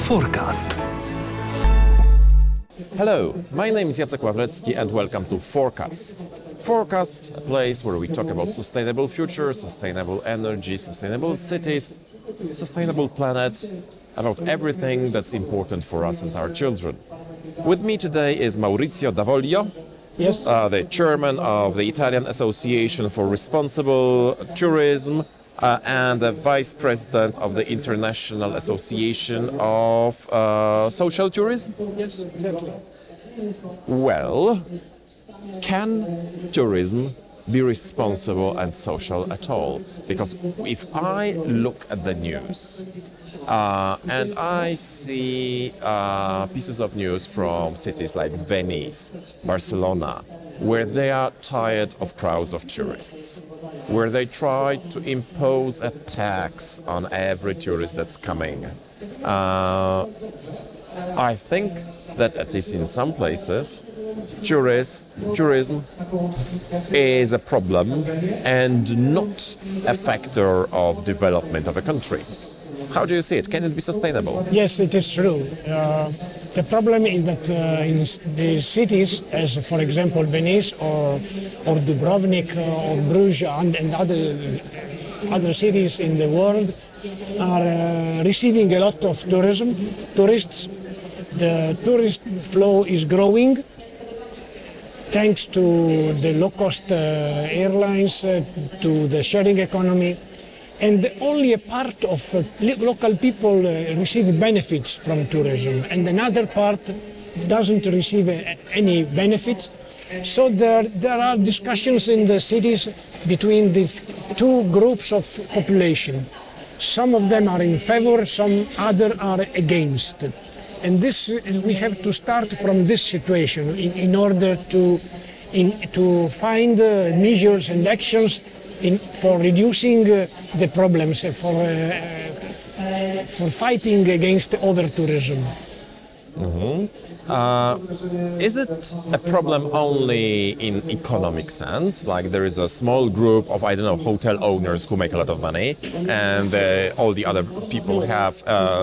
Forecast. Hello, my name is Jacek Ławrecki and welcome to Forecast. Forecast, a place where we talk about sustainable future, sustainable energy, sustainable cities, sustainable planet, about everything that's important for us and our children. With me today is Maurizio Davoglio, Yes. the chairman of the Italian Association for Responsible Tourism and the vice president of the International Association of Social Tourism. Yes, exactly. Well, can tourism be responsible and social at all? Because if I look at the news and I see pieces of news from cities like Venice, Barcelona, where they are tired of crowds of tourists, where they try to impose a tax on every tourist that's coming, I think that at least in some places, tourism is a problem and not a factor of development of a country. How do you see it? Can it be sustainable? Yes, it is true. The problem is that in the cities, as for example Venice or Dubrovnik or Bruges and other cities in the world, are receiving a lot of tourists. The tourist flow is growing thanks to the low-cost airlines, to the sharing economy, and only a part of local people receive benefits from tourism, and another part doesn't receive any benefits. So there are discussions in the cities between these two groups of population. Some of them are in favor, some other are against. And this, we have to start from this situation in order to find measures and actions for reducing the problems, for fighting against over-tourism. Is it a problem only in economic sense? Like there is a small group of, hotel owners who make a lot of money and all the other people have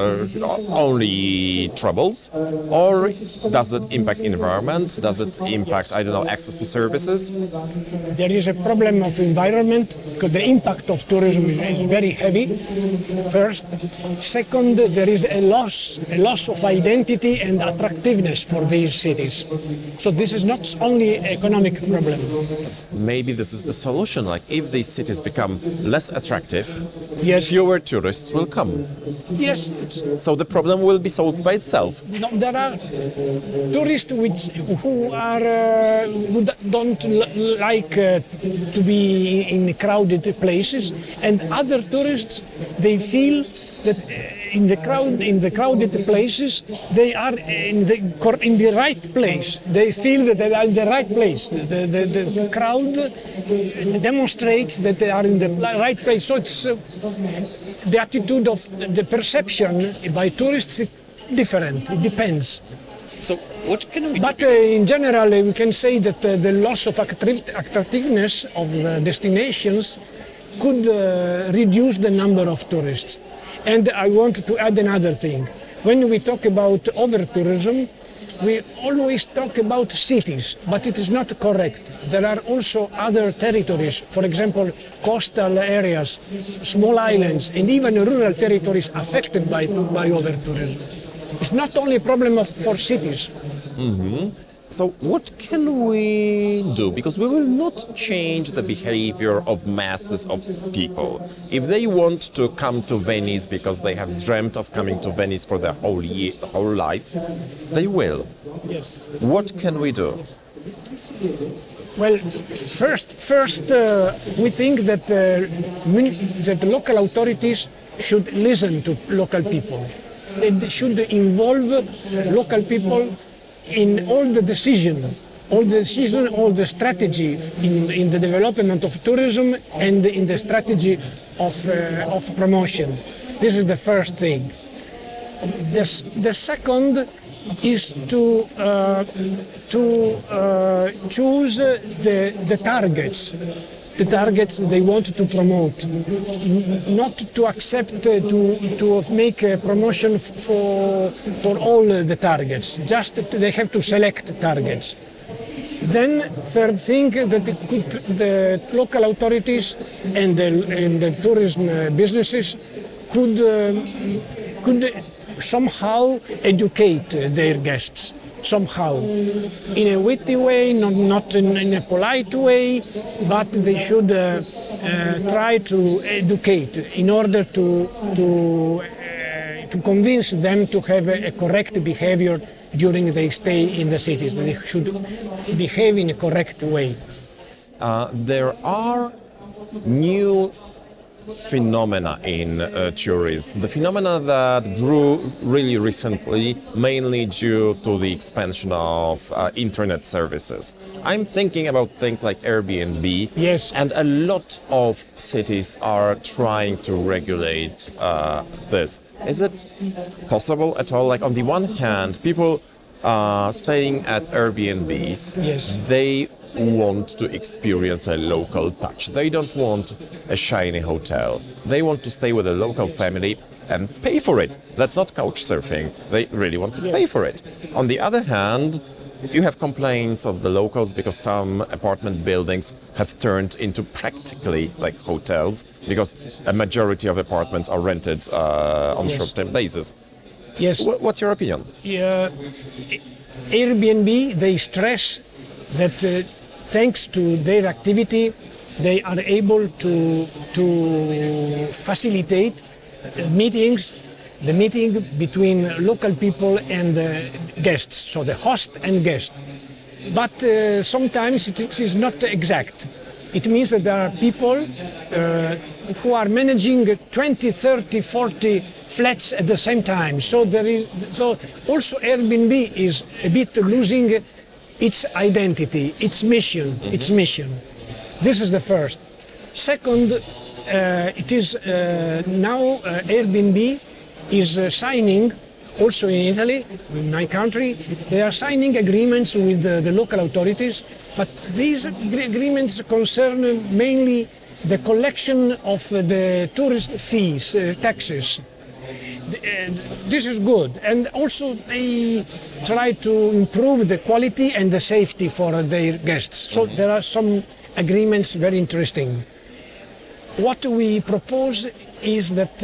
only troubles? Or does it impact environment? Does it impact, access to services? There is a problem of environment because the impact of tourism is very heavy, first. Second, there is a loss of identity and attractiveness for these cities. So this is not only an economic problem. Maybe this is the solution. Like if these cities become less attractive, Yes. fewer tourists will come. Yes, So the problem will be solved by itself. no, there are tourists who don't like to be in crowded places, and other tourists, they feel that in the crowded places they are in the right place. They feel that they are in the right place. The crowd demonstrates that they are in the right place. So it's the attitude of the perception by tourists is different. It depends. So what can we But do? in general, we can say that the loss of attractiveness of the destinations could reduce the number of tourists. And I want to add another thing. When we talk about over-tourism, we always talk about cities, but it is not correct. There are also other territories, for example, coastal areas, small islands, and even rural territories affected by over-tourism. It's not only a problem for cities. So what can we do? Because we will not change the behavior of masses of people. If they want to come to Venice because they have dreamt of coming to Venice for their whole life, they will. Yes. What can we do? Well, first, we think that that local authorities should listen to local people. They should involve local people in all the strategy in the development of tourism and in the strategy of promotion. This is the first thing. The second is to choose the targets the targets they want to promote, not to accept to make a promotion for all the targets. Just they have to select targets. Then third thing that the local authorities and the tourism businesses could somehow educate their guests, somehow, in a witty way, not in a polite way, but they should try to educate in order to convince them to have a correct behavior during their stay in the cities. They should behave in a correct way. There are new phenomena in tourism. The phenomena that grew really recently, mainly due to the expansion of internet services. I'm thinking about things like Airbnb. Yes. And a lot of cities are trying to regulate this. Is it possible at all? Like, on the one hand, people staying at Airbnbs, Yes. they want to experience a local touch. They don't want a shiny hotel. They want to stay with a local family and pay for it. That's not couch surfing. They really want to pay for it. On the other hand, you have complaints of the locals because some apartment buildings have turned into practically like hotels because a majority of apartments are rented on short-term basis. Yes. What's your opinion? Airbnb, they stress that thanks to their activity, they are able to facilitate meetings, the meeting between local people and guests, so the host and guest. But sometimes it is not exact. It means that there are people who are managing 20, 30, 40 flats at the same time. So also Airbnb is a bit losing its identity, its mission. This is the first. Second, it is now Airbnb is signing, also in Italy, in my country, they are signing agreements with the local authorities, but these agreements concern mainly the collection of the tourist fees, taxes. This is good, and also they try to improve the quality and the safety for their guests. So there are some agreements very interesting. What we propose is that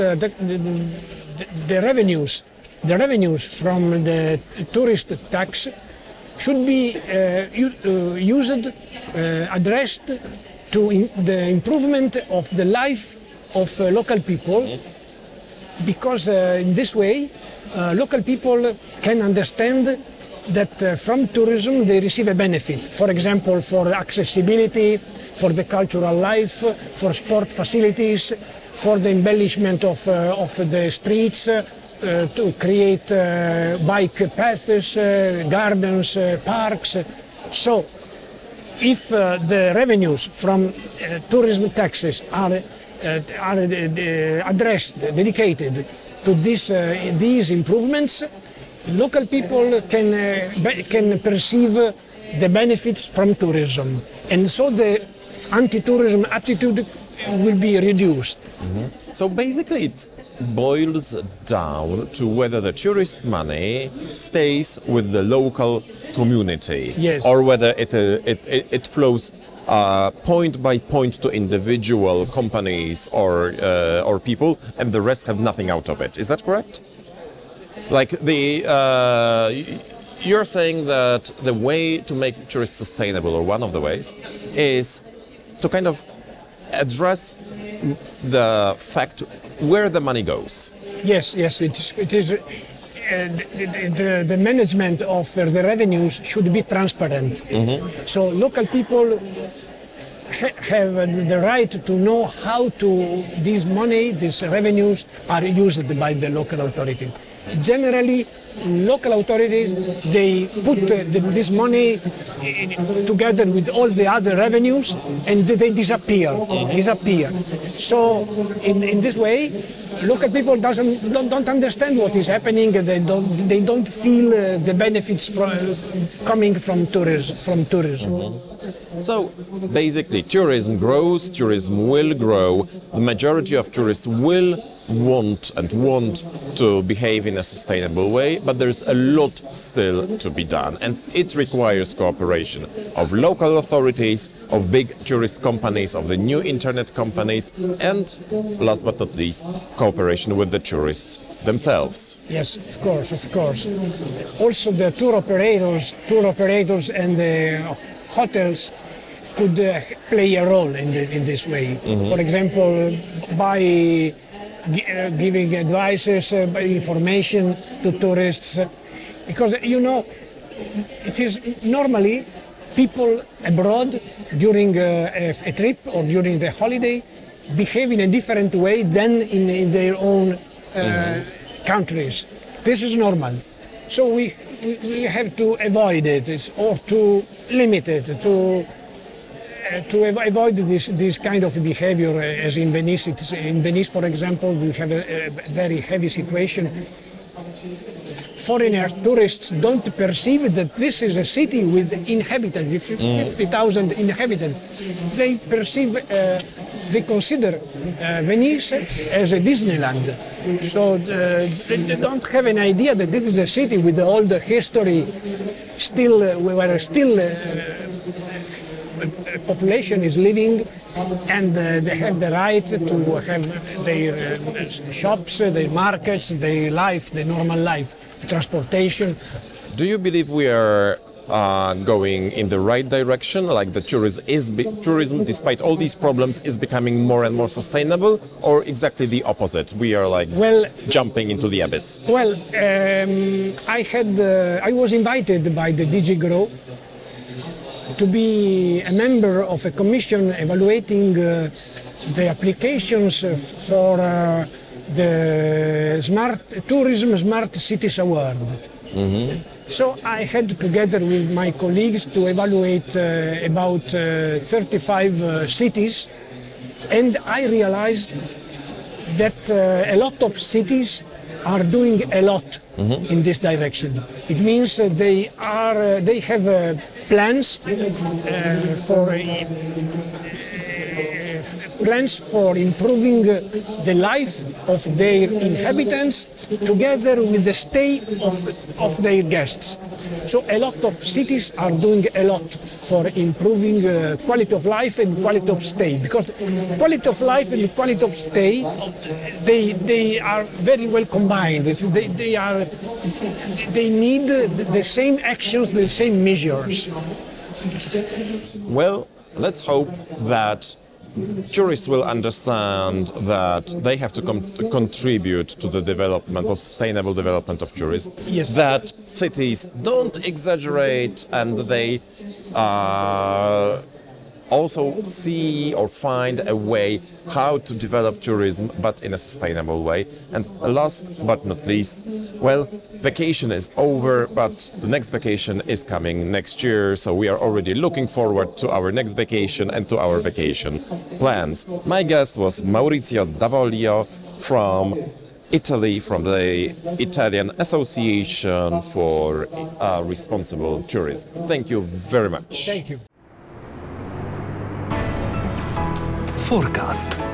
the revenues from the tourist tax should be used, addressed to the improvement of the life of local people. Because in this way, local people can understand that from tourism they receive a benefit. For example, for accessibility, for the cultural life, for sport facilities, for the embellishment of the streets, to create bike paths, gardens, parks. So, if the revenues from tourism taxes are addressed, dedicated to these improvements, local people can perceive the benefits from tourism, and so the anti-tourism attitude will be reduced. Mm-hmm. So basically it boils down to whether the tourist money stays with the local community, yes, or whether it flows point by point to individual companies or people, and the rest have nothing out of it. Is that correct? Like you're saying that the way to make tourism sustainable, or one of the ways, is to kind of address the fact where the money goes. Yes, it is. The management of the revenues should be transparent. Mm-hmm. So local people have the right to know how these revenues are used by the local authority. generally local authorities, they put this money together with all the other revenues and they disappear. So in this way, local people don't understand what is happening. They don't feel the benefits coming from tourism. So basically, tourism grows, tourism will grow. The majority of tourists will want to behave in a sustainable way, but there's a lot still to be done, and it requires cooperation of local authorities, of big tourist companies, of the new internet companies, and last but not least, cooperation with the tourists themselves. Yes, of course. Also, the tour operators and the hotels could play a role in this way. For example, by giving advices, information to tourists, because it is normally people abroad during a trip or during the holiday behave in a different way than in their own countries. This is normal, so we have to avoid it or to limit it to avoid this kind of behavior, as in Venice. In Venice, for example, we have a very heavy situation. Foreigners, tourists don't perceive that this is a city with inhabitants, 50,000 inhabitants. They consider Venice as a Disneyland. So they don't have an idea that this is a city with all the history, where population is living, and they have the right to have their shops, their markets, their life, their normal life, transportation. Do you believe we are going in the right direction, like the tourism, despite all these problems, is becoming more and more sustainable, or exactly the opposite? We are jumping into the abyss. Well, I was invited by the DG Grow to be a member of a commission evaluating the applications for the Smart Cities Award. So I had, together with my colleagues, to evaluate about 35 cities, and I realized that a lot of cities are doing a lot in this direction. It means they have plans for improving the life of their inhabitants together with the stay of their guests. So a lot of cities are doing a lot for improving quality of life and quality of stay, because quality of life and quality of stay, they are very well combined. They need the same actions, the same measures. Well, let's hope that tourists will understand that they have to contribute to the development or sustainable development of tourism. Yes. That cities don't exaggerate, and they also see or find a way how to develop tourism, but in a sustainable way. And last but not least, well, vacation is over, but the next vacation is coming next year, so we are already looking forward to our next vacation and to our vacation plans. My guest was Maurizio Davoglio from Italy, from the Italian Association for Responsible Tourism. Thank you very much. Thank you. Forecast.